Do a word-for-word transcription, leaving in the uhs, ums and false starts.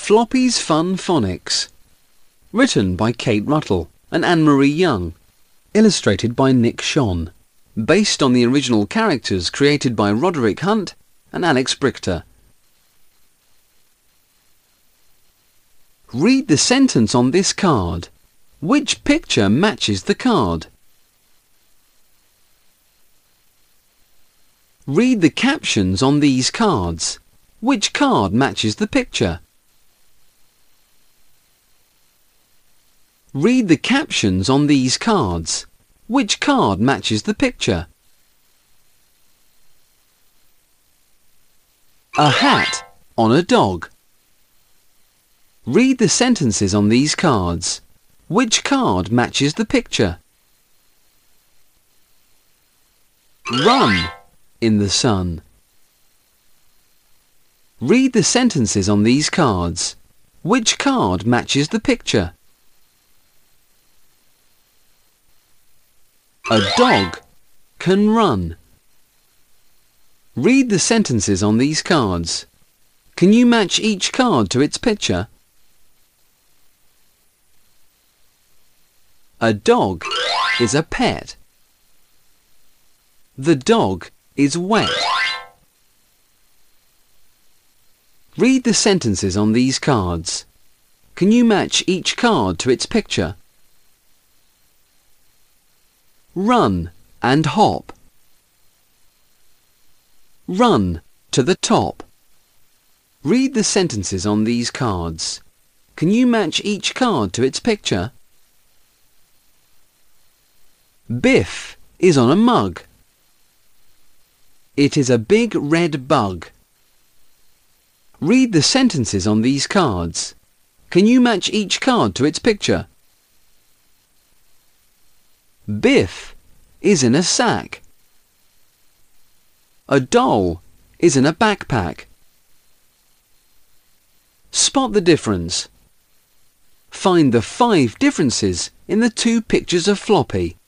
Floppy's Fun Phonics. Written by Kate Ruttle and Anne-Marie Young. Illustrated by Nick Shon. Based on the original characters created by Roderick Hunt and Alex Brichter. Read the sentence on this card. Which picture matches the card? Read the captions on these cards. Which card matches the picture? Read the captions on these cards. Which card matches the picture? A hat on a dog. Read the sentences on these cards. Which card matches the picture? Run in the sun. Read the sentences on these cards. Which card matches the picture? A dog can run. Read the sentences on these cards. Can you match each card to its picture? A dog is a pet. The dog is wet. Read the sentences on these cards. Can you match each card to its picture? Run and hop. Run to the top. Read the sentences on these cards. Can you match each card to its picture? Biff is on a mug. It is a big red bug. Read the sentences on these cards. Can you match each card to its picture? Biff is in a sack. A doll is in a backpack. Spot the difference. Find the five differences in the two pictures of Floppy.